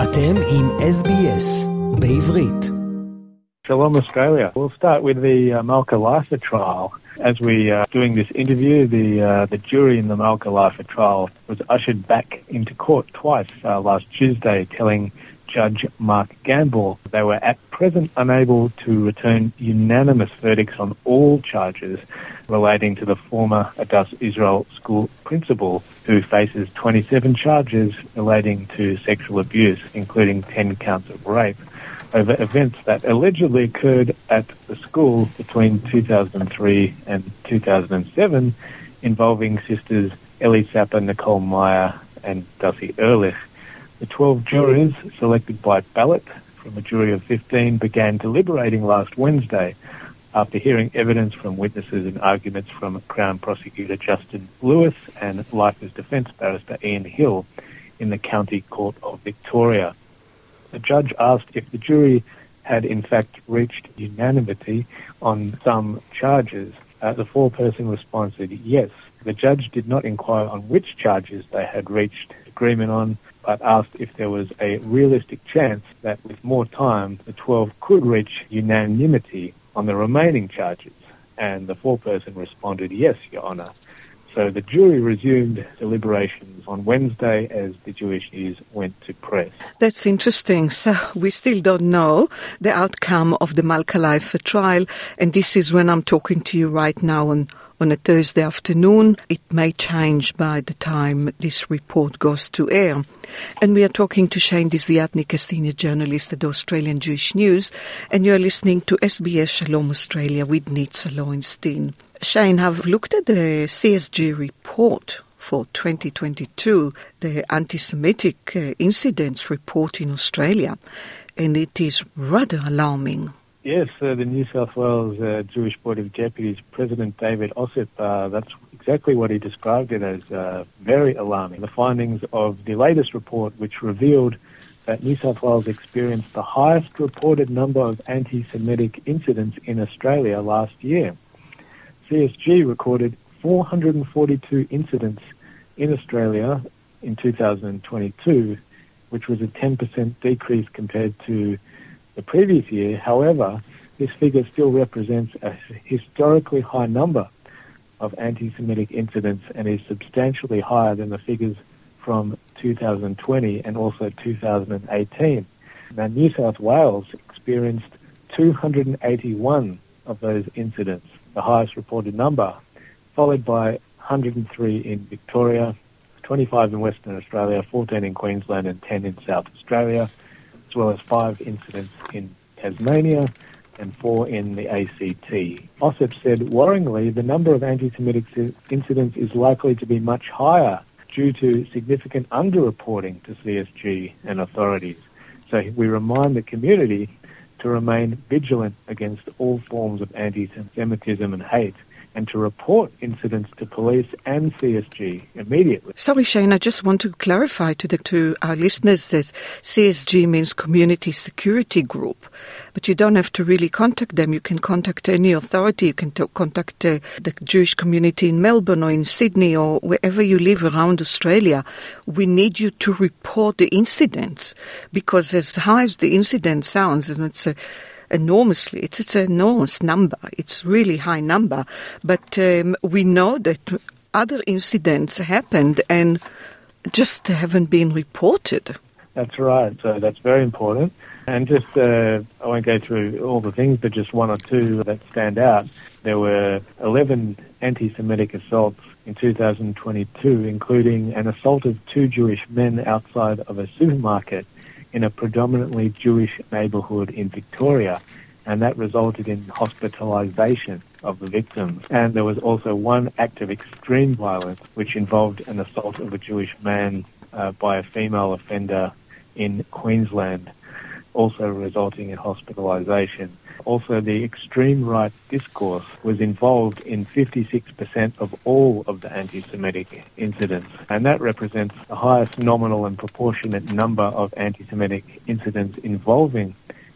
אתם עם SBS בעברית. Shalom Australia. We'll start with the Malka Leifer trial. As we are doing this interview, the jury in the Malka Leifer trial was ushered back into court twice last Tuesday, telling Judge Mark Gamble they were at present unable to return unanimous verdicts on all charges relating to the former Adass Israel school principal, who faces 27 charges relating to sexual abuse, including 10 counts of rape, over events that allegedly occurred at the school between 2003 and 2007, involving sisters Ellie Sapper, Nicole Meyer, and Dussie Ehrlich. The 12 jurors, selected by ballot from a jury of 15, began deliberating last Wednesday after hearing evidence from witnesses and arguments from Crown Prosecutor Justin Lewis and Leifer's defence barrister Ian Hill in the County Court of Victoria. The judge asked if the jury had in fact reached unanimity on some charges. The foreperson responded yes. The judge did not inquire on which charges they had reached agreement on, but asked if there was a realistic chance that with more time the 12 could reach unanimity on the remaining charges. And the foreperson responded yes, Your Honour. So the jury resumed deliberations on Wednesday as the Jewish News went to press. That's interesting. So we still don't know the outcome of the Malka Leifer trial, and this is when I'm talking to you right now on a Thursday afternoon. It may change by the time this report goes to air. And we are talking to Shane Desiatnik, a senior journalist at the Australian Jewish News, and you're listening to SBS Shalom Australia with Nitza Lowenstein. Shane, I've looked at the CSG report for 2022, the anti-Semitic incidents report in Australia, and it is rather alarming. Yes, the New South Wales Jewish Board of Deputies President David Ossip, that's exactly what he described it as, very alarming. The findings of the latest report, which revealed that New South Wales experienced the highest reported number of anti-Semitic incidents in Australia last year. CSG recorded 442 incidents in Australia in 2022, which was a 10% decrease compared to the previous year. However, this figure still represents a historically high number of anti-Semitic incidents and is substantially higher than the figures from 2020 and also 2018. Now, New South Wales experienced 281 of those incidents, the highest reported number, followed by 103 in Victoria, 25 in Western Australia, 14 in Queensland and 10 in South Australia, as well as 5 incidents in Tasmania and 4 in the ACT. Ossip said, worryingly, the number of anti-Semitic incidents is likely to be much higher due to significant underreporting to CSG and authorities. So we remind the community to remain vigilant against all forms of anti-Semitism and hate, and to report incidents to police and CSG immediately. Sorry, Shane, I just want to clarify to our listeners that CSG means Community Security Group, but you don't have to really contact them. You can contact any authority. You can contact the Jewish community in Melbourne or in Sydney or wherever you live around Australia. We need you to report the incidents, because as high as the incident sounds, and it's enormously. It's an enormous number. It's really high number. But we know that other incidents happened and just haven't been reported. That's right. So that's very important. And just, I won't go through all the things, but just one or two that stand out. There were 11 anti-Semitic assaults in 2022, including an assault of 2 Jewish men outside of a supermarket in a predominantly Jewish neighbourhood in Victoria, and that resulted in hospitalisation of the victims. And there was also one act of extreme violence which involved an assault of a Jewish man by a female offender in Queensland, also resulting in hospitalisation. Also, the extreme right discourse was involved in 56% of all of the anti-Semitic incidents, and that represents the highest nominal and proportionate number of anti-Semitic incidents involving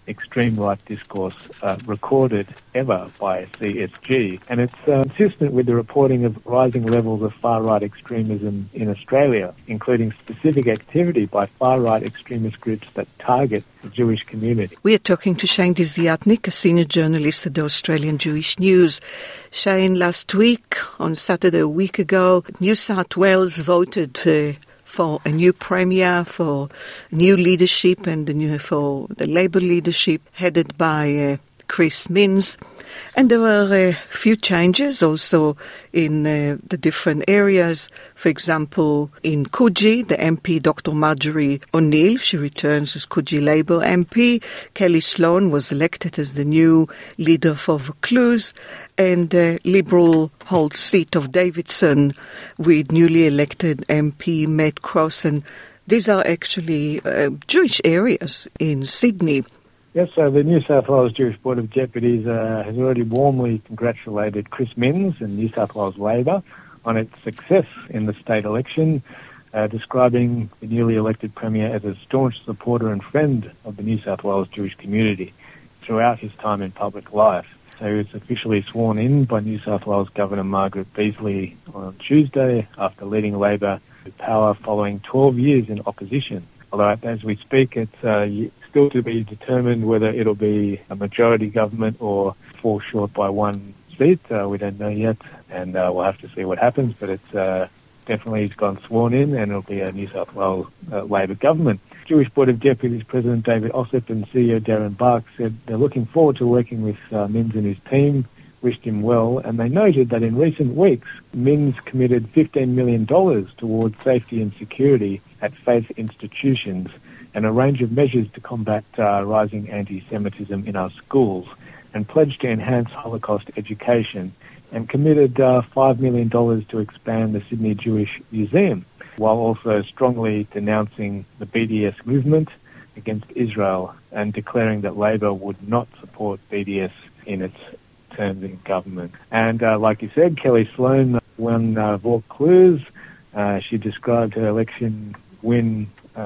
extreme right discourse recorded ever by CSG. And it's consistent with the reporting of rising levels of far-right extremism in Australia, including specific activity by far-right extremist groups that target the Jewish community. We are talking to Shane Desiatnik, a senior journalist at the Australian Jewish News. Shane, last week, on Saturday a week ago, New South Wales voted for a new premier, for new leadership, and for the Labour leadership headed by Chris Minns. And there were a few changes also in the different areas. For example, in Coogee, the MP, Dr. Marjorie O'Neill, she returns as Coogee Labour MP. Kelly Sloan was elected as the new leader for Vaucluse. And the Liberal holds seat of Davidson with newly elected MP Matt Cross. And these are actually Jewish areas in Sydney. Yes, so the New South Wales Jewish Board of Deputies has already warmly congratulated Chris Minns and New South Wales Labor on its success in the state election, describing the newly elected Premier as a staunch supporter and friend of the New South Wales Jewish community throughout his time in public life. So he was officially sworn in by New South Wales Governor Margaret Beazley on Tuesday after leading Labor to power following 12 years in opposition. Although as we speak, it's still to be determined whether it'll be a majority government or fall short by one seat. We don't know yet, and we'll have to see what happens, but it's definitely he's gone sworn in, and it'll be a New South Wales Labor government. Jewish Board of Deputies President David Ossip and CEO Darren Bark said they're looking forward to working with Minns and his team, wished him well, and they noted that in recent weeks, Minns committed $15 million towards safety and security at faith institutions and a range of measures to combat rising anti-Semitism in our schools, and pledged to enhance Holocaust education, and committed $5 million to expand the Sydney Jewish Museum, while also strongly denouncing the BDS movement against Israel and declaring that Labor would not support BDS in its terms in government. And like you said, Kelly Sloan won Vaucluse. She described her election win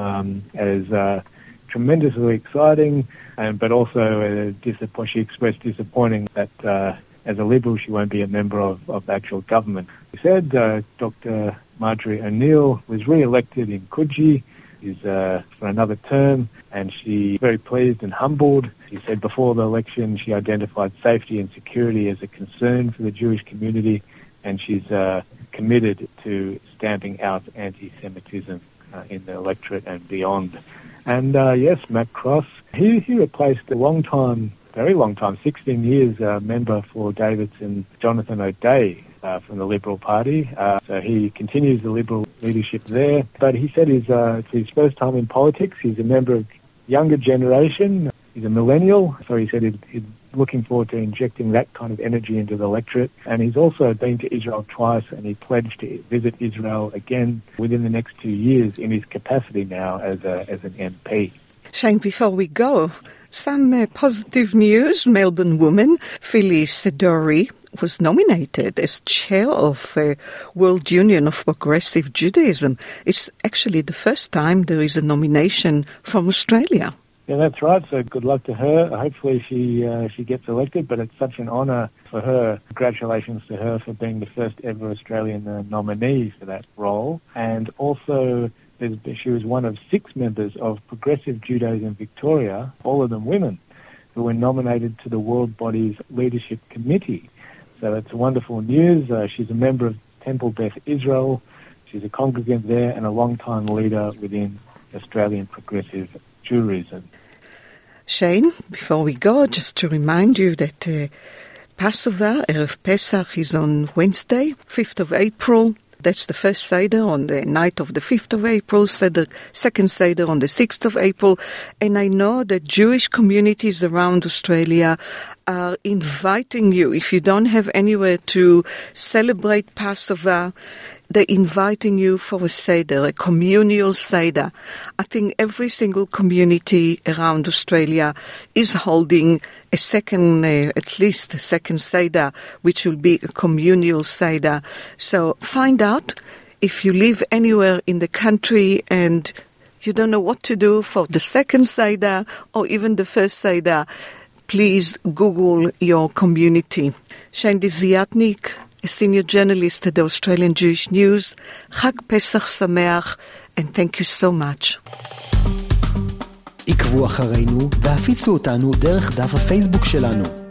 as tremendously exciting, but also she expressed disappointing that as a Liberal she won't be a member of actual government. She said Dr. Marjorie O'Neill was re-elected in Coogee for another term, and she's very pleased and humbled. She said before the election she identified safety and security as a concern for the Jewish community, and she's committed to stamping out anti-Semitism in the electorate and beyond. And yes, Matt Cross, he replaced a very long time, 16 years member for Davidson, Jonathan O'Dea from the Liberal Party. So he continues the Liberal leadership there. But he said it's his first time in politics. He's a member of younger generation. He's a millennial. So he said he's looking forward to injecting that kind of energy into the electorate. And he's also been to Israel twice, and he pledged to visit Israel again within the next 2 years in his capacity now as an MP. Shane, before we go, some positive news. Melbourne woman Phyllis Dorrie was nominated as chair of World Union of Progressive Judaism. It's actually the first time there is a nomination from Australia. Yeah, that's right. So good luck to her. Hopefully she gets elected, but it's such an honour for her. Congratulations to her for being the first ever Australian nominee for that role. And also she was one of 6 members of Progressive Judaism Victoria, all of them women, who were nominated to the World Body's Leadership Committee. So it's wonderful news. She's a member of Temple Beth Israel. She's a congregant there and a long-time leader within Australian Progressive Judaism. Shane, before we go, just to remind you that Passover, Erev Pesach, is on Wednesday, 5th of April. That's the first Seder on the night of the 5th of April, second Seder on the 6th of April. And I know that Jewish communities around Australia are inviting you. If you don't have anywhere to celebrate Passover, they're inviting you for a Seder, a communal Seder. I think every single community around Australia is holding a second, at least a second Seder, which will be a communal Seder. So find out if you live anywhere in the country and you don't know what to do for the second Seder or even the first Seder, please Google your community. Shane Desiatnik, a senior journalist at the Australian Jewish News. Chag Pesach Sameach, and thank you so much. עקבו אחרינו והפיצו אותנו דרך דף הפייסבוק שלנו.